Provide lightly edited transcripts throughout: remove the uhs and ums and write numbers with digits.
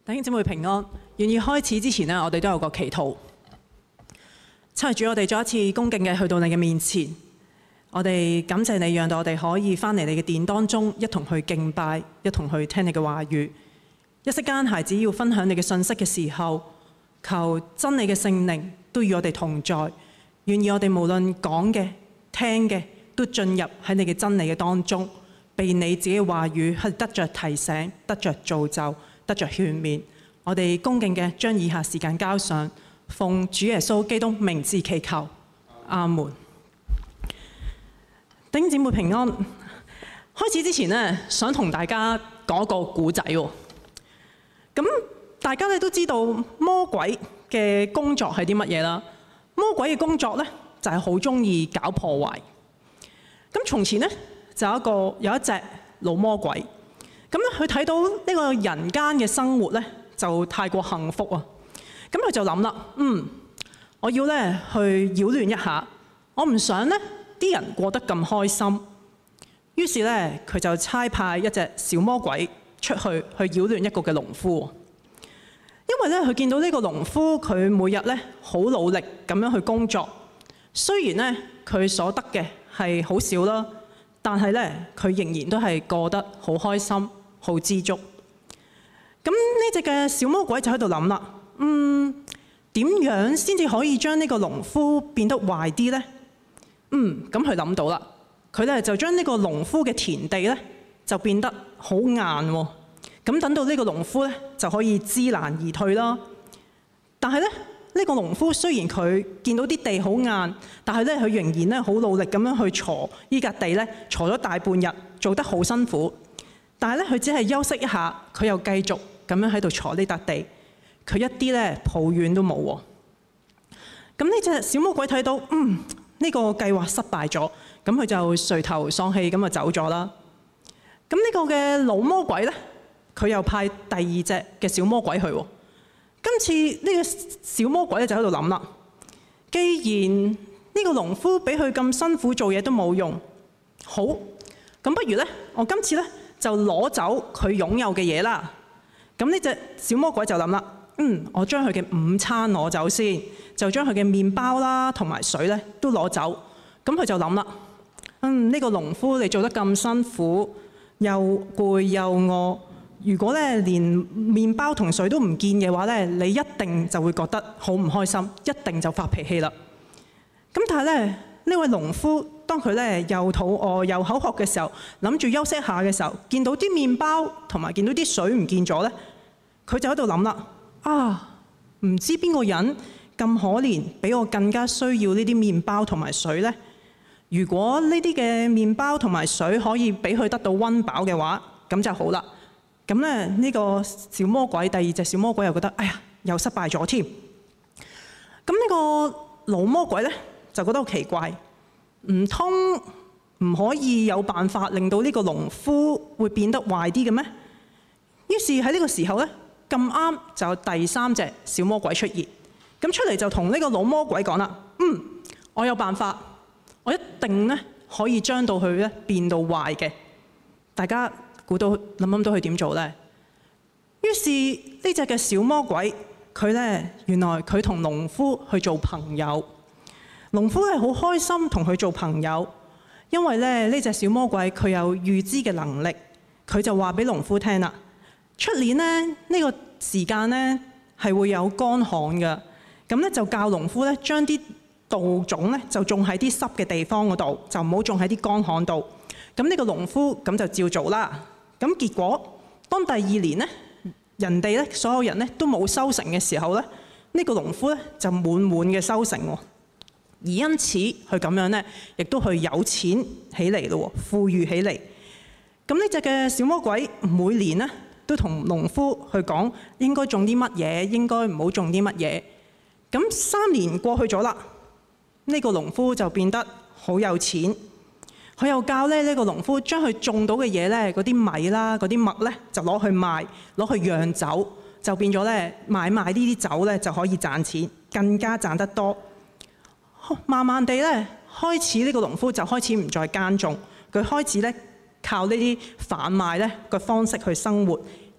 弟兄姊妹平安。願意開始之前呢，我哋都有個祈禱。親愛主，我哋再一次恭敬嘅去到你嘅面前，我哋感謝你，讓到我哋可以返嚟你嘅殿當中，一同去敬拜，一同去聽你嘅話語。一息間，孩子要分享你嘅信息嘅時候，求真理嘅聖靈都與我哋同在，願意我哋無論講嘅、聽嘅，都進入喺你嘅真理嘅當中，被你自己嘅話語係得着提醒、得着造就、得着勸勉。我哋恭敬嘅將以下時間交上，奉主耶穌基督名字祈求，阿門。弟兄姊妹平安。開始之前呢，想同大家講一個故仔喎。咁大家咧都知道魔鬼嘅工作係啲乜嘢啦？魔鬼嘅工作呢，就係好中意搞破壞。咁從前呢，就有一隻老魔鬼。咁咧佢睇到呢個人間嘅生活呢，就太過幸福啊！咁佢就諗啦，我要咧去擾亂一下，我唔想呢啲人過得咁開心。於是咧佢就差派一隻小魔鬼出去擾亂一個嘅農夫。因為咧佢見到呢個農夫佢每日咧好努力咁樣去工作，雖然咧佢所得嘅係好少啦，但係咧佢仍然都係過得好開心、好知足。咁呢隻嘅小魔鬼就喺度諗啦，點樣先至可以將呢個農夫變得壞啲呢？咁佢諗到啦，佢咧就將呢個農夫嘅田地咧就變得好硬喎。咁等到呢個農夫咧就可以知難而退啦。但係咧呢個農夫雖然佢見到啲地好硬，但係咧佢仍然咧好努力咁樣去鋤呢笪地咧，鋤咗大半日，做得好辛苦。但係咧佢只係休息一下，佢又繼續咁樣喺度鋤呢笪地，佢一啲咧抱怨都冇喎。咁呢隻小魔鬼睇到呢個計劃失敗咗，咁佢就垂頭喪氣咁就走咗啦。咁呢個嘅老魔鬼咧，佢又派第二隻嘅小魔鬼去喎。今次呢個小魔鬼咧就喺度諗啦，既然呢個農夫俾佢咁辛苦做嘢都冇用，好，咁不如咧，我今次咧就攞走佢擁有嘅嘢啦。咁呢隻小魔鬼就諗啦，我將佢嘅午餐攞走先，就將佢嘅麵包啦同埋水咧都攞走。咁佢就諗啦，呢個農夫你做得咁辛苦，又攰又餓，如果咧連麵包同水都唔見嘅話咧，你一定就會覺得好唔開心，一定就發脾氣啦。咁但係咧呢位農夫，當佢咧又肚餓又口渴嘅時候，諗住休息下嘅時候，見到啲麵包同埋見到啲水唔見咗咧，佢就喺度諗啦，唔知邊個人咁可憐，比我更加需要呢啲麵包同埋水呢？如果呢啲嘅麵包同埋水可以俾佢得到溫飽嘅話，咁就好啦。咁咧呢個小魔鬼，第二隻小魔鬼又覺得，哎呀，又失敗咗添。咁呢個老魔鬼咧就覺得好奇怪，唔通唔可以有辦法令到呢個農夫會變得壞啲嘅咩？於是喺呢個時候咧，咁啱就有第三隻小魔鬼出現。咁出嚟就同呢個老魔鬼講啦，我有辦法，我一定咧可以將到佢咧變到壞嘅。大家估到諗到佢點做呢？於是呢隻嘅小魔鬼，佢咧原來佢同農夫去做朋友。農夫係好開心同佢做朋友，因為咧呢隻小魔鬼佢有預知嘅能力，佢就話俾農夫聽啦，出年呢個時間呢係會有乾旱嘅。咁咧就教農夫咧將啲稻種咧就種喺啲濕嘅地方嗰度，就唔好種喺啲乾旱度。咁呢個農夫咁就照做啦。咁結果當第二年咧，人哋咧所有人咧都冇收成嘅時候咧，呢個農夫咧就滿滿嘅收成喎。而因此佢咁樣咧，亦都去有錢起嚟咯，富裕起嚟。咁呢隻嘅小魔鬼每年咧都同農夫去講應該種啲乜嘢，應該唔好種啲乜嘢。咁3年過去咗啦，呢個農夫就變得好有錢。佢又教呢個農夫將佢種到嘅嘢咧，嗰啲米啦、嗰啲麥咧，就攞去賣，攞去釀酒，就變咗咧買賣呢啲酒咧就可以賺錢，更加賺得多。慢慢地咧，開始呢個農夫就開始唔再耕種，佢開始咧靠呢啲販賣咧嘅方式去生活，而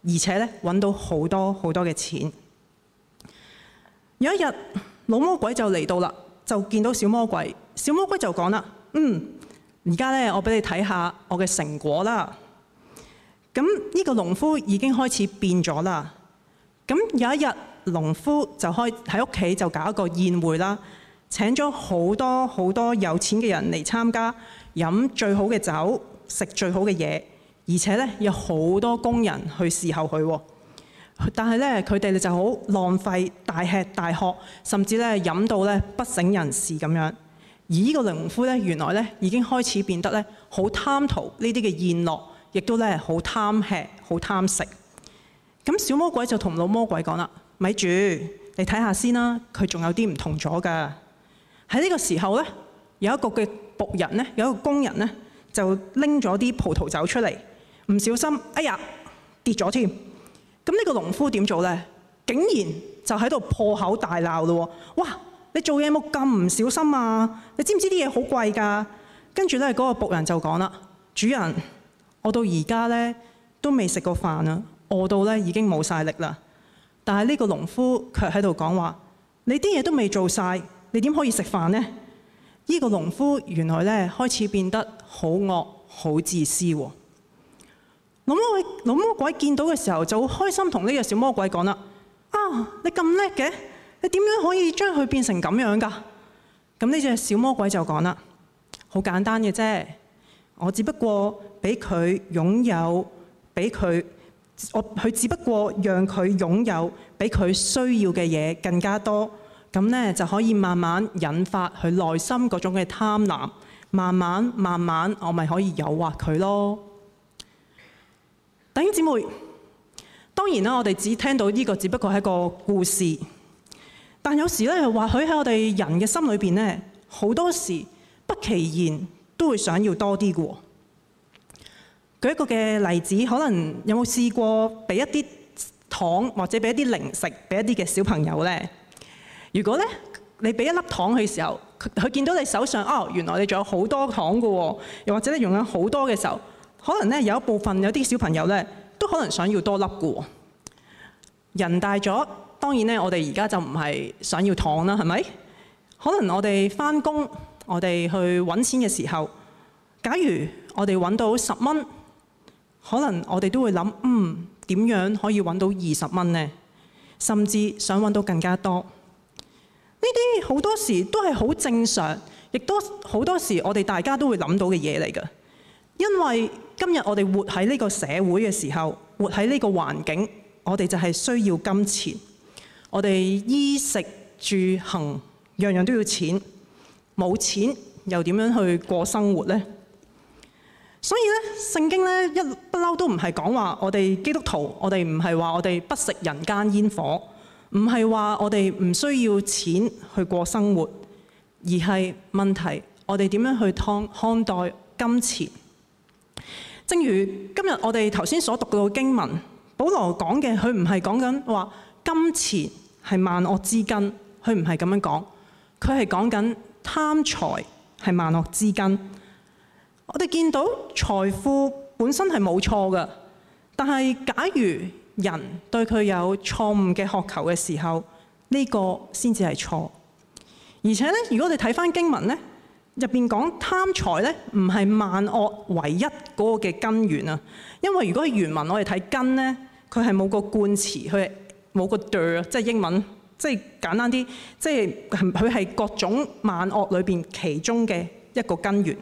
而且咧揾到好多好多嘅錢。有一日，老魔鬼就嚟到啦，就見到小魔鬼。小魔鬼就講啦：而家咧我俾你睇下我嘅成果啦。咁呢個農夫已經開始變咗啦。咁有一日，農夫就喺屋企就搞一個宴會啦，請咗好多好多有錢嘅人嚟參加，飲最好嘅酒，食最好嘅嘢，而且咧有好多工人去伺候佢。但係咧佢哋就好浪費，大吃大喝，甚至咧飲到咧不省人事咁樣。而呢個農夫咧原來咧已經開始變得咧好貪圖呢啲嘅宴樂，亦都咧好貪吃、好貪食。咁小魔鬼就同老魔鬼講啦：咪住，你睇下先啦，佢仲有啲唔同咗㗎。喺呢個時候咧，有一個嘅僕人咧，有一個工人咧，就拎咗啲葡萄酒出嚟，唔小心，哎呀，跌咗添。咁呢個農夫點做咧？竟然就喺度破口大鬧咯！哇！你做嘢冇咁唔小心啊？你知唔知啲嘢好貴㗎？跟住咧，嗰個僕人就講啦：主人，我到而家咧都未食過飯啊，餓到咧已經冇晒力啦。但係呢個農夫卻喺度講話：你啲嘢都未做晒，你點可以食飯呢？呢個農夫原來咧開始變得好惡、好自私喎。老魔鬼見到嘅時候就好開心，同呢個小魔鬼講啦：你咁叻嘅，你點樣可以將佢變成咁樣㗎？咁呢隻小魔鬼就講啦：好簡單嘅啫，我只不過俾佢擁有，佢只不過讓佢擁有比佢需要嘅嘢更加多，咁呢，就可以慢慢引發佢內心嗰種嘅貪婪，慢慢我咪可以誘惑佢咯。弟兄姊妹，當然啦，我哋只聽到呢個只不過係一個故事，但有時咧，或許喺我哋人嘅心裏邊咧，好多時不其然都會想要多啲嘅。舉一個嘅例子，可能有冇試過俾一啲糖或者俾一啲零食俾一啲嘅小朋友咧？如果咧你俾一粒糖佢嘅時候，佢見到你手上原來你仲有好多糖嘅喎，又或者你用緊好多嘅時候，可能咧有一部分有啲小朋友咧都可能想要多粒嘅喎。人大咗，當然咧我哋而家就唔係想要糖啦，係咪？可能我哋返工，我哋去揾錢嘅時候，假如我哋揾到10蚊，可能我哋都會諗，點樣可以揾到20蚊呢？甚至想揾到更加多。呢啲好多時都係好正常，亦都好多時我哋大家都會諗到嘅嘢嚟㗎。因為今日我哋活喺呢個社會嘅時候，活喺呢個環境，我哋就係需要金錢。我哋衣食住行樣樣都要錢，冇錢又點樣去過生活呢？所以咧，聖經咧一不嬲都唔係講話我哋基督徒，我哋唔係話我哋不食人間煙火，唔係話我哋唔需要錢去過生活，而係問題我哋點樣去看待金錢。正如今日我哋頭先所讀到嘅經文，保羅講嘅佢唔係講緊話金錢係萬惡之根，佢唔係咁樣講，佢係講緊貪財係萬惡之根。我哋見到財富本身係冇錯嘅，但係假如人對佢有錯誤嘅渴求嘅時候，呢個先至係錯。而且咧，如果你睇返經文咧，入邊講貪財咧，唔係萬惡唯一嗰個嘅根源啊。因為如果係原文我哋睇根咧，佢係冇個冠詞，佢係冇個 der， 即係英文，即係簡單啲，即係佢係各種萬惡裏邊其中嘅一個根源。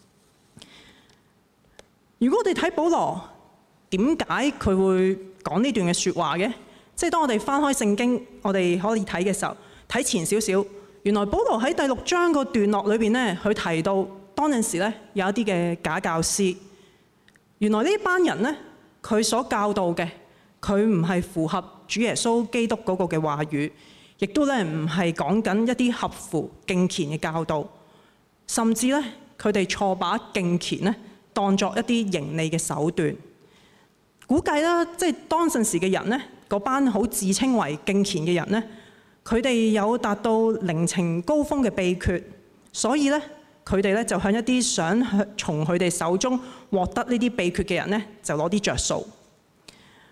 如果我哋睇保羅點解佢會講呢段嘅説話嘅？即係當我哋翻開聖經，我哋可以睇嘅時候，睇前少少，原來保羅喺第6章個段落裏邊咧，佢提到當陣時咧有一啲嘅假教師。原來呢班人咧，佢所教導嘅，佢唔係符合主耶穌基督嗰個嘅話語，亦都咧唔係講緊一啲合乎敬虔嘅教導，甚至咧佢哋錯把敬虔咧當作一啲盈利嘅手段。估計啦，即係當陣時嘅人咧，嗰班好自稱為敬虔嘅人咧，佢哋有達到靈情高峰嘅秘訣，所以咧佢哋咧就向一啲想從佢哋手中獲得呢啲秘訣嘅人咧，就攞啲着數。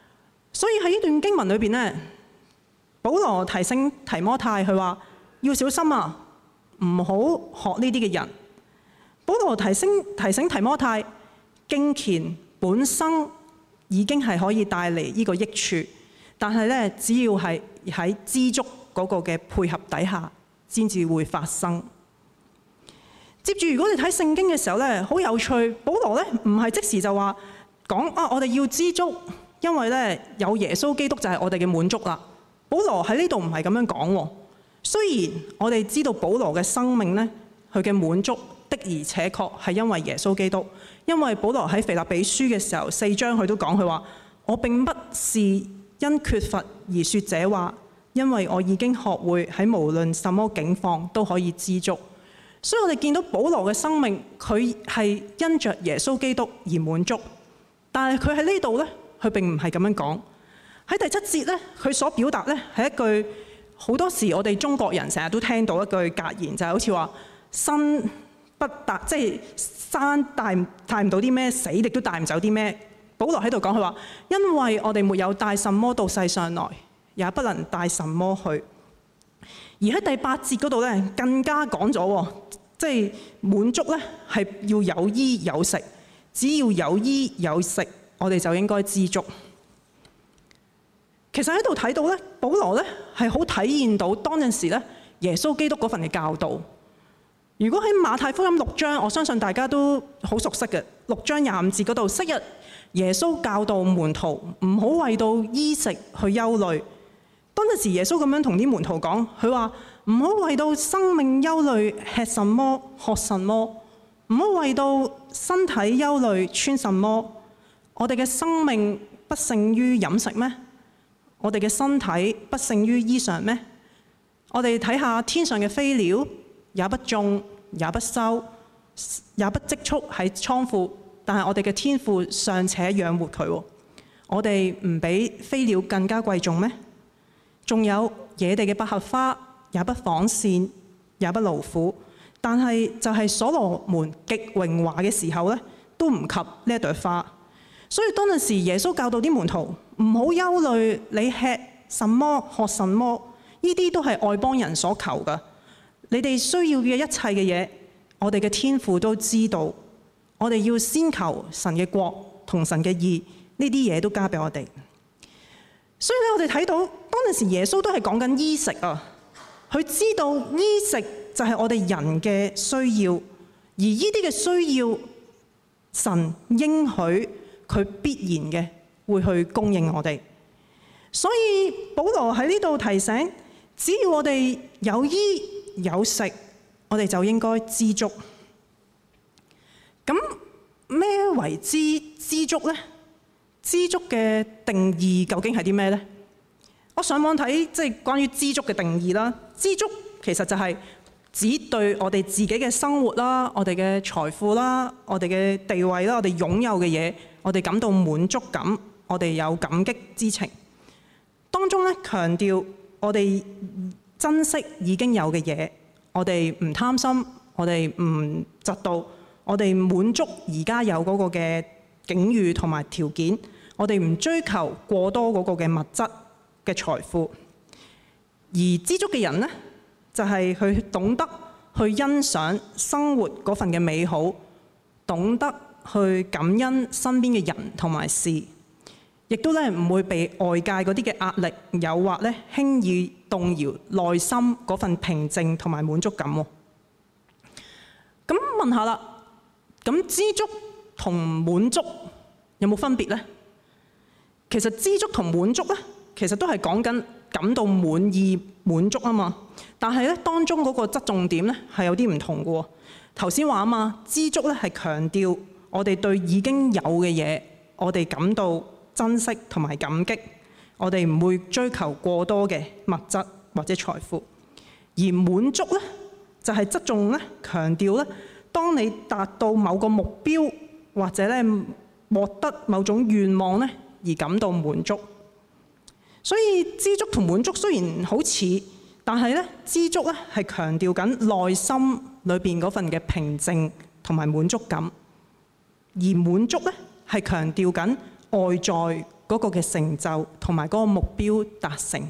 所以喺呢段經文裏邊咧，保羅提醒提摩太，佢話要小心啊，唔好學呢啲嘅人。保羅提醒提摩太，敬虔本身已經係可以帶嚟呢個益處，但係咧，只要係喺知足嗰個嘅配合底下，先至會發生。接住，如果你睇聖經嘅時候咧，好有趣。保羅咧唔係即時就話講啊，我哋要知足，因為咧有耶穌基督就係我哋嘅滿足啦。保羅喺呢度唔係咁樣講喎。雖然我哋知道保羅嘅生命咧，佢嘅滿足的而且確係因為耶穌基督。因為保羅喺腓立比書嘅時候4章佢都講，佢話我並不是因缺乏而說這話，因為我已經學會喺無論什麼境況都可以知足。所以我哋見到保羅嘅生命，佢係因着耶穌基督而滿足。但係佢喺呢度呢，佢並唔係咁樣講。喺第7節呢，佢所表達呢係一句好多時我哋中國人成日都聽到一句格言，就係好似話生不帶，即係生帶唔到啲咩，死亦都帶唔走啲咩。保羅喺度講，佢話因為我哋沒有帶什麼到世上來，也不能帶什麼去。而喺第8節嗰度咧，更加講咗，即係滿足咧係要有衣有食，只要有衣有食，我哋就應該知足。其實喺度睇到咧，保羅咧係好體現到當陣時咧耶穌基督嗰份嘅教導。如果喺馬太福音6章，我相信大家都好熟悉嘅6章25節嗰度，昔日耶穌教導門徒唔好為到衣食去憂慮。當陣時耶穌咁樣同啲門徒講，佢話唔好為到生命憂慮，吃什麼喝什麼，唔好為到身體憂慮，穿什麼。我哋嘅生命不勝於飲食咩？我哋嘅身體不勝於衣裳咩？我哋睇下天上嘅飛鳥，也不種，也不收，也不積蓄喺倉庫，但係我哋嘅天父尚且養活佢。我哋唔比飛鳥更加貴重咩？仲有野地嘅百合花，也不紡線，也不勞苦，但係就係所羅門極榮華嘅時候咧，都唔及呢一朵花。所以當陣時耶穌教導啲門徒唔好憂慮，你吃什麼喝什麼，呢啲都係外邦人所求㗎。你哋需要嘅一切嘅嘢，我哋嘅天父都知道。我哋要先求神嘅國同神嘅義，呢啲嘢都交俾我哋。所以咧，我哋睇到當陣時耶穌都係講緊衣食啊。佢知道衣食就係我哋人嘅需要，而呢啲嘅需要，神應許佢必然嘅會去供應我哋。所以保羅喺呢度提醒，只要我哋有衣有食，我哋就應該知足。咁咩為之知足呢？知足嘅定義究竟係啲咩呢？我上網睇即係關於知足嘅定義啦。知足其實就係指對我哋自己嘅生活啦、我哋嘅財富啦、我哋嘅地位啦、我哋擁有嘅嘢，我哋感到滿足感，我哋有感激之情。當中咧強調我哋珍惜已經有嘅嘢，我哋唔貪心，我哋唔嫉妒，我哋滿足而家有嗰個嘅境遇同埋條件，我哋唔追求過多嗰個嘅物質嘅財富。而知足嘅人呢，就係佢懂得去欣賞生活嗰份嘅美好，懂得去感恩身邊嘅人同埋事，亦都咧唔會被外界嗰啲嘅壓力誘惑咧輕易動搖內心嗰份平靜同埋滿足感。咁問下啦，咁知足同滿足有冇分別呢？其實知足同滿足咧，其實都係講緊感到滿意滿足啊嘛。但係咧當中嗰個側重點咧係有啲唔同嘅喎。頭先話啊嘛，知足咧係強調我哋對已經有嘅嘢，我哋感到珍惜同埋感激，我哋唔會追求過多嘅物質或者財富。而滿足咧就係側重咧強調咧，當你達到某個目標或者咧獲得某種願望咧而感到滿足。所以知足同滿足雖然好似，但係咧知足咧係強調緊內心裏邊嗰份嘅平靜同埋滿足感，而滿足咧係強調緊外在嗰個嘅成就同埋嗰個目標達成。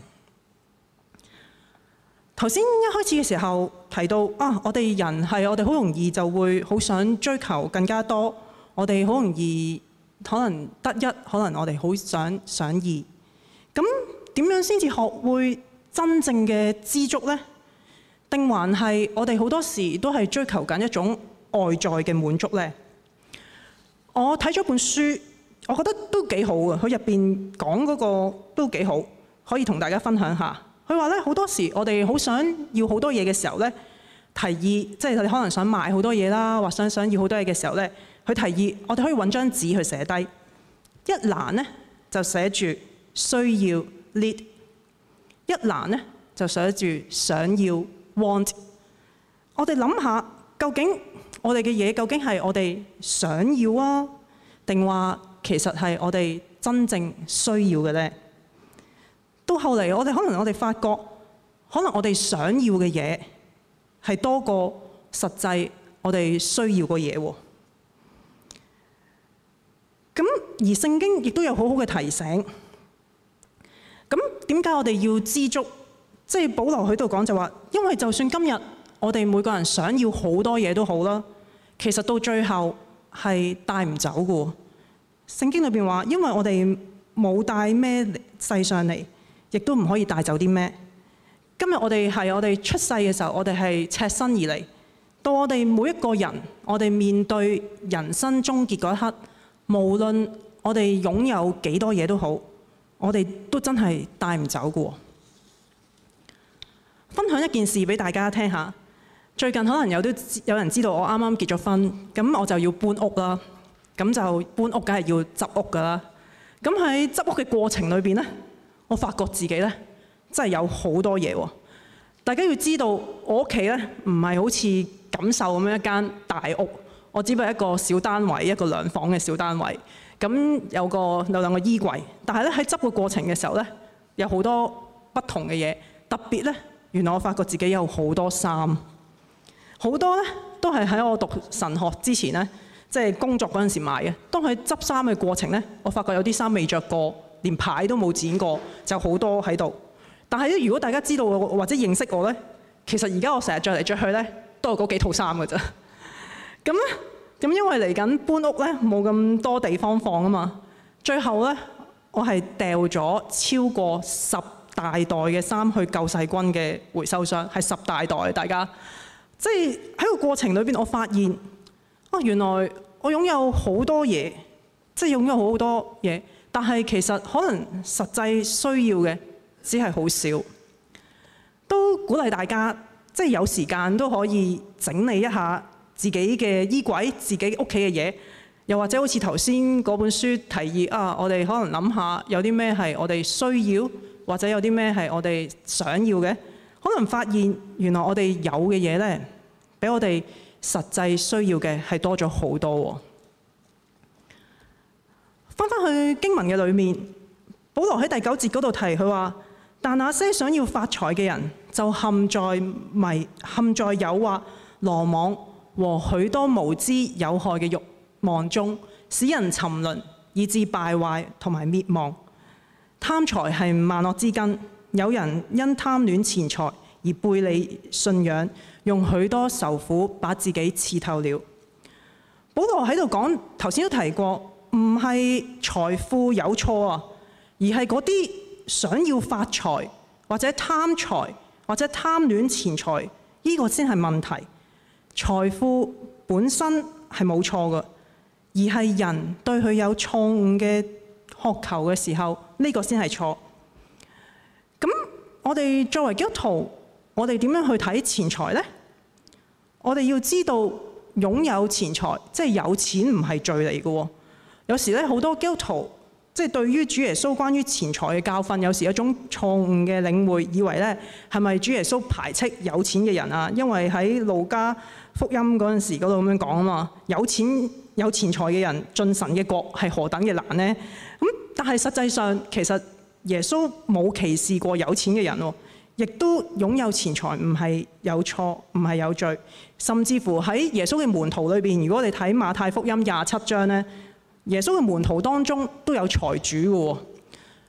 頭先一開始嘅時候提到我哋人係我哋好容易就會好想追求更加多，我哋好容易可能得一，可能我哋好想二。咁點樣先至學會真正嘅知足呢？定還係我哋好多時都係追求緊一種外在嘅滿足呢？我睇咗本書，我覺得都幾好嘅。佢入邊講嗰個都幾好，可以同大家分享下。佢話咧，好多時我哋好想要好多嘢嘅時候咧，提議即係你可能想買好多嘢啦，或想要好多嘢嘅時候咧，佢提議我哋可以揾張紙去寫低。一欄咧就寫住需要 need， 一欄咧就寫住想要 want。我哋諗下，究竟我哋嘅嘢究竟係我哋想要啊，定話其實係我哋真正需要嘅咧？到後嚟，我哋發覺，可能我哋想要嘅嘢係多過實際我哋需要嘅嘢喎。咁而聖經亦都有好好嘅提醒。咁點解我哋要知足？即係保羅喺度講就話，因為就算今日我哋每個人想要好多嘢都好啦，其實到最後係帶唔走嘅。聖經裏邊話，因為我哋冇帶咩世上嚟，亦都唔可以帶走啲咩。今日我哋出世嘅時候，我哋係赤身而嚟。到我哋每一個人，我哋面對人生終結嗰一刻，無論我哋擁有幾多嘢都好，我哋都真係帶唔走嘅。分享一件事俾大家聽下。最近可能有人知道我啱啱結咗婚，咁我就要搬屋啦。咁就搬屋梗係要執屋㗎啦。咁喺執屋嘅過程裏邊呢，我發覺自己咧真係有好多嘢喎。大家要知道，我屋企咧唔係好似錦繡咁樣一間大屋，我只不過係一個小單位，一個2房嘅小單位。咁有2個衣櫃，但係咧喺執嘅過程嘅時候咧，有好多不同嘅嘢。特別咧，原來我發覺自己有好多衫，好多咧都係喺我讀神學之前咧，即係工作嗰陣時買嘅。當佢執衫嘅過程咧，我發覺有啲衫未着過，連牌都冇剪過，就好多喺度。但係咧，如果大家知道我或者認識我咧，其實而家我成日着嚟着去咧，都係嗰幾套衫㗎咋。咁因為嚟緊搬屋咧，冇咁多地方放啊嘛。最後咧，我係掉咗超過10大袋嘅衫去救世軍嘅回收箱，係10大袋。大家即係喺個過程裏邊，我發現原來我擁有好多嘢，即係擁有好多嘢，但係其實可能實際需要嘅只係好少。都鼓勵大家，即係有時間都可以整理一下自己嘅衣櫃、自己屋企嘅嘢，又或者好似頭先嗰本書提議我哋可能諗下有啲咩係我哋需要，或者有啲咩係我哋想要嘅，可能發現原來我哋有嘅嘢呢，比我哋實際需要嘅係多咗好多。翻去經文嘅裏面，保羅喺第9節嗰度提佢話：但那些想要發財嘅人，就陷在誘惑、羅網和許多無知有害嘅慾望中，使人沉淪，以致敗壞同埋滅亡。貪財係萬惡之根，有人因貪戀錢財而背離信仰，用許多愁苦把自己刺透了。保羅喺度講，頭先都提過，唔係財富有錯啊，而係嗰啲想要發財或者貪財或者貪戀錢財，呢個先係問題。財富本身係冇錯嘅，而係人對佢有錯誤嘅渴求嘅時候，呢個先係錯。咁我哋作為基督徒，我哋點樣去睇錢財呢？我哋要知道擁有錢財，即係有錢唔係罪嚟嘅。有時咧，好多基督徒即係對於主耶穌關於錢財嘅教訓，有時有一種錯誤嘅領會，以為咧係咪主耶穌排斥有錢嘅人啊？因為喺路加福音嗰陣時嗰度咁樣講啊嘛，有錢財嘅人進神嘅國係何等嘅難呢？咁但係實際上其實耶穌冇歧視過有錢嘅人喎，亦都擁有錢財唔係有錯，唔係有罪。甚至乎喺耶穌嘅門徒裏邊，如果你睇馬太福音27章咧，耶穌嘅門徒當中都有財主嘅喎。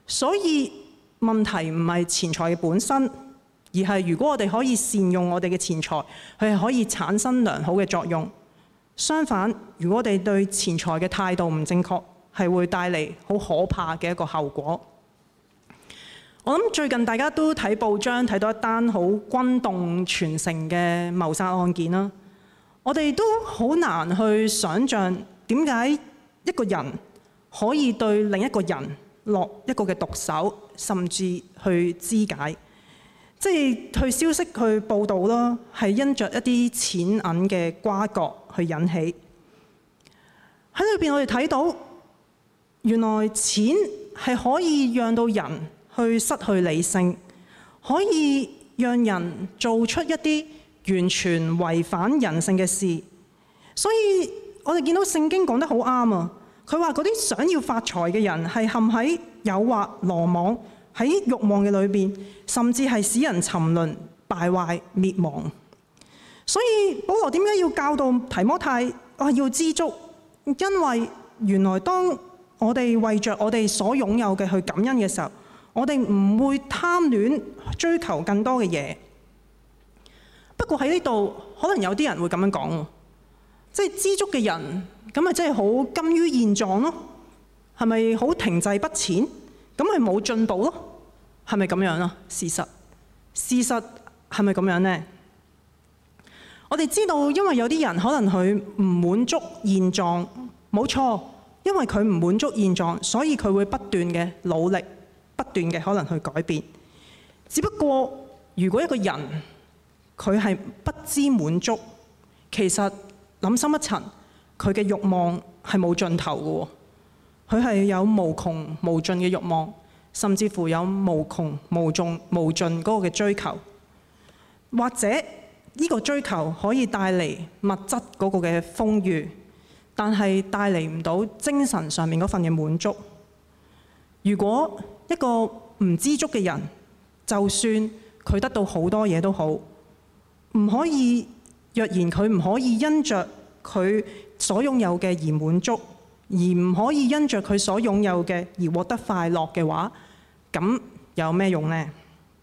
所以問題唔係錢財嘅本身，而係如果我哋可以善用我哋嘅錢財，佢係可以產生良好嘅作用。相反，如果我哋對錢財嘅態度唔正確，係會帶嚟好可怕嘅一個後果。我諗最近大家都睇報章睇到一單好轟動全城嘅謀殺案件啦。我哋都好難去想像點解一個人可以對另一個人落一個嘅毒手，甚至去肢解。即係去消息去報導啦，係因着一啲錢銀嘅瓜葛去引起。喺裏邊我哋睇到，原來錢係可以讓到人去失去理性，可以讓人做出一啲完全違反人性嘅事。所以我哋見到聖經講得好啱啊！佢話嗰啲想要發財嘅人係陷喺誘惑、羅網，喺慾望嘅裏邊，甚至係使人沉淪、敗壞、滅亡。所以保羅點解要教導提摩太要知足？因為原來當我哋為着我哋所擁有嘅去感恩嘅時候，我哋唔會貪戀追求更多嘅嘢。不過喺呢度，可能有啲人會咁樣講，即係知足嘅人，咁咪真係好甘於現狀咯？係咪好停滯不前？咁咪冇進步咯？係咪咁樣啊？事實係咪咁樣呢？我哋知道，因為有啲人可能佢唔滿足現狀，冇錯，因為佢唔滿足現狀，所以佢會不斷嘅努力，不斷嘅可能去改變。只不過，如果一個人佢係不知滿足，其實諗深一層，佢嘅慾望係冇盡頭嘅，佢係有無窮無盡嘅慾望，甚至乎有無窮無盡嗰個嘅追求，或者呢個追求可以帶嚟物質嗰個嘅豐裕，但係帶嚟唔到精神上面嗰份嘅滿足。如果一個唔知足嘅人，就算佢得到好多嘢都好，唔可以，若然佢唔可以因着佢所擁有嘅而滿足，而唔可以因着佢所擁有嘅而獲得快樂嘅話，咁有咩用呢？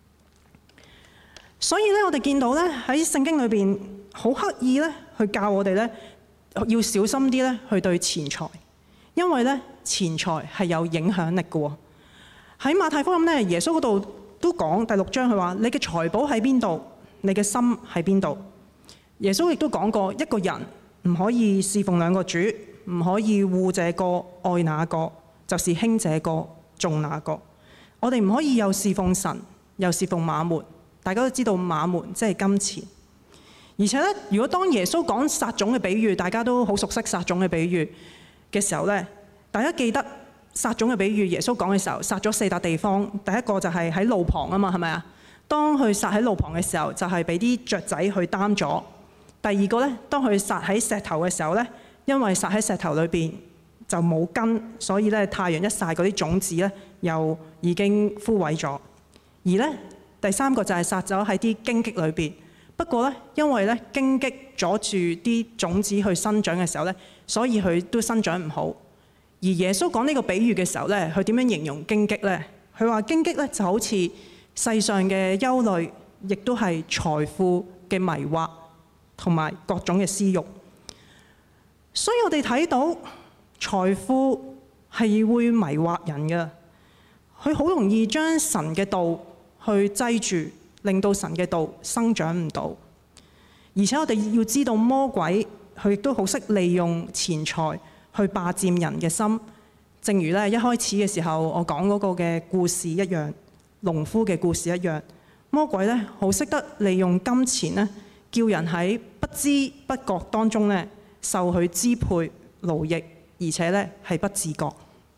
所以咧，我哋見到咧喺聖經裏邊好刻意咧去教我哋咧要小心啲咧去對錢財，因為咧錢財係有影響力嘅喎。喺馬太福音咧，耶穌嗰度都講第6章，佢話：你嘅財寶喺邊度，你嘅心喺邊度。耶穌亦都講過，一個人唔可以侍奉兩個主，唔可以護這個愛那個，就是輕這個重那個。我哋唔可以又侍奉神，又侍奉馬門。大家都知道馬門即係金錢。而且咧，如果當耶穌講撒種嘅比喻，大家都好熟悉撒種嘅比喻嘅時候咧，大家記得撒種嘅比喻，耶穌講嘅時候，撒咗4笪地方。第一個就係喺路旁啊嘛，係咪啊？當佢撒喺路旁嘅時候，就係俾啲雀仔去擔咗。第二個咧，當佢撒喺石頭嘅時候咧，因為撒喺石頭裏邊就冇根，所以咧太陽一曬，嗰啲種子咧又已經枯萎咗。而咧第三個就係撒咗喺啲荊棘裏邊。不過咧，因為咧荊棘阻住啲種子去生長嘅時候咧，所以佢都生長唔好。而耶穌講呢個比喻嘅時候咧，佢點樣形容荊棘咧？佢話荊棘咧就好似世上嘅憂慮，亦都係財富嘅迷惑同埋各種嘅私慾。所以我哋睇到財富係會迷惑人嘅，佢好容易將神嘅道去擠住，令到神嘅道生長唔到。而且我哋要知道魔鬼佢亦都好識利用錢財去霸佔人嘅心。正如咧一開始嘅時候我講嗰個嘅故事一樣，農夫嘅故事一樣，魔鬼咧好識得利用金錢咧，叫人喺不知不覺當中咧受佢支配奴役，而且咧係不自覺。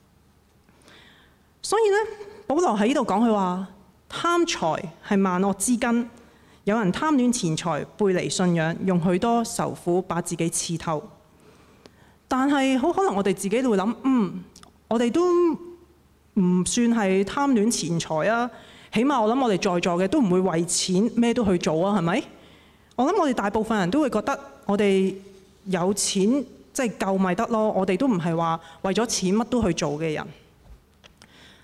所以咧，保羅喺呢度講佢話，貪財係萬惡之根。有人貪戀錢財，背離信仰，用許多愁苦把自己刺透。但係好可能我哋自己都會諗，我哋都唔算係貪戀錢財啊。起碼我諗我哋在座嘅都唔會為錢咩都去做啊，係咪？我諗我哋大部分人都會覺得我哋有錢即係夠咪得咯。我哋都唔係話為咗錢乜都去做嘅人。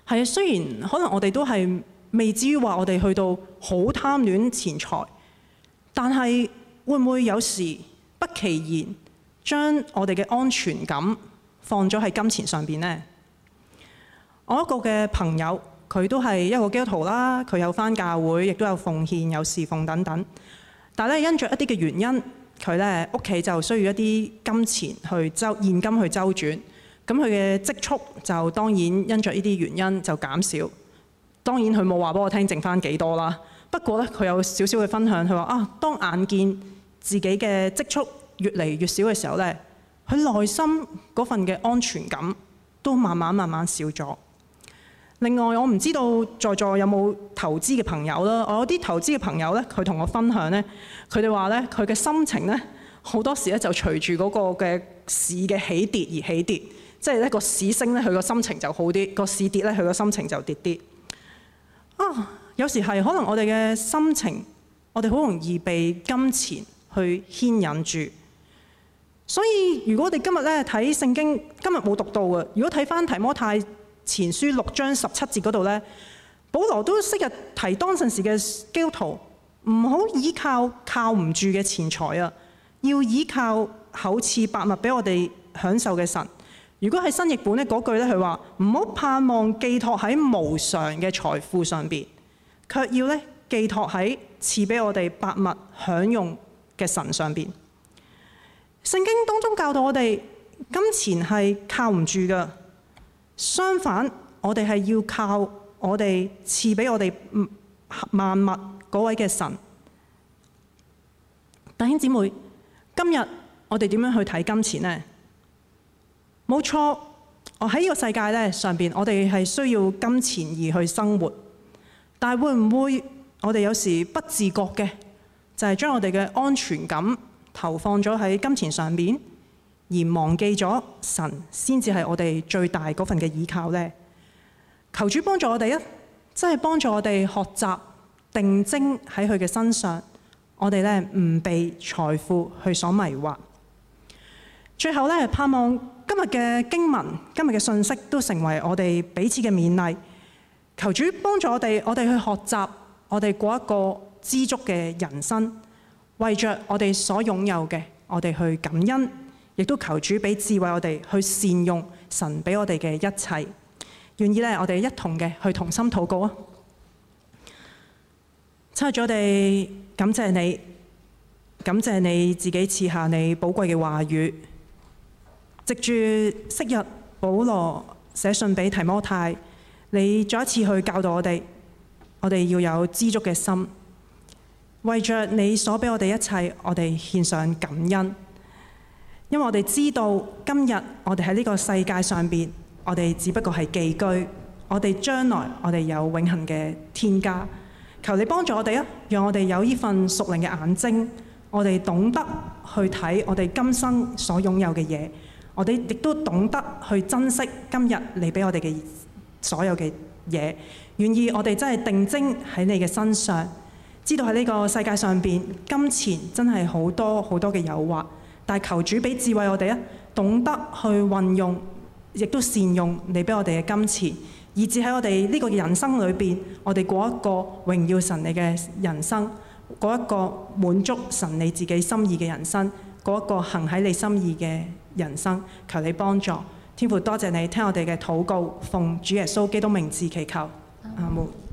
係啊，雖然可能我哋都係未至於話我哋去到好貪戀錢財，但係會唔會有時不其然將我哋嘅安全感放咗喺金錢上邊呢？我一個嘅朋友，佢都係一個基督徒啦，佢有返教會，亦都有奉獻、有侍奉等等。但係咧，因着一啲嘅原因，佢咧屋企就需要一啲金錢去現金去周轉。咁佢嘅積蓄就當然因着呢啲原因就減少。當然佢冇話俾我聽剩返幾多啦。不過咧，佢有少少嘅分享，佢話啊，當眼見自己嘅積蓄越嚟越少嘅時候咧，佢內心嗰份嘅安全感都慢慢少咗。另外，我唔知道在座有冇投資嘅朋友啦。我有啲投資嘅朋友咧，佢同我分享咧，佢哋話咧，佢嘅心情咧好多時咧就隨住嗰個嘅市嘅起跌而起跌。即係咧個市升咧，佢個心情就好啲；個市跌咧，佢個心情就跌啲。有時係可能我哋嘅心情，我哋好容易被金錢去牽引住。所以如果我哋今日咧睇聖經，今日冇讀到嘅，如果睇返提摩太前書6章17節嗰度咧，保羅都昔日提當陣時嘅基督徒唔好依靠唔住嘅錢財啊，要依靠厚賜百物俾我哋享受嘅神。如果喺新譯本咧，嗰句咧，佢話唔好盼望寄託喺無常嘅財富上邊，卻要咧寄託喺賜俾我哋百物享用嘅神上邊。聖經當中教導我哋，金錢係靠唔住㗎，相反，我哋係要靠我哋賜俾我哋萬物嗰位嘅神。弟兄姊妹，今日我哋點樣去睇金錢呢？冇錯，我喺呢個世界咧上邊，我哋係需要金錢而去生活。但係會唔會我哋有時不自覺嘅，就係將我哋嘅安全感投放咗喺金錢上邊，而忘記咗神先至係我哋最大嗰份嘅依靠呢？求主幫助我哋啊！真係幫助我哋學習定睛喺佢嘅身上，我哋咧唔被財富去所迷惑。最後咧，盼望今日嘅經文、今日嘅信息都成為我哋彼此嘅勉勵。求主幫助我哋去學習，我哋過一個知足嘅人生，為着我哋所擁有嘅，我哋去感恩，亦都求主俾智慧我哋去善用神俾我哋嘅一切。願意咧，我哋一同嘅去同心禱告啊！親愛的，我哋感謝你，感謝你自己賜下你寶貴嘅話語。藉住昔日保羅寫信俾提摩太，你再一次去教導我哋要有知足嘅心，為着你所俾我哋一切，我哋獻上感恩。因為我哋知道今日我哋喺呢個世界上邊，我哋只不過係寄居，我哋將來我哋有永恆嘅天家。求你幫助我哋啊，讓我哋有呢份屬靈嘅眼睛，我哋懂得去睇我哋今生所擁有嘅嘢。我哋亦都懂得去珍惜今日你俾我哋嘅所有嘅嘢，願意我哋真係定睛喺你嘅身上，知道喺呢個世界上邊，金錢真係好多好多嘅誘惑，但係求主俾智慧我哋啊，懂得去運用，亦都善用你俾我哋嘅金錢，以至喺我哋呢個人生裏邊，我哋過一個榮耀神你嘅人生，過一個滿足神你自己心意嘅人生，過一個行喺你心意嘅人生。求你幫助，天父多謝你聽我哋嘅禱告，奉主耶穌基督名字祈求，阿門。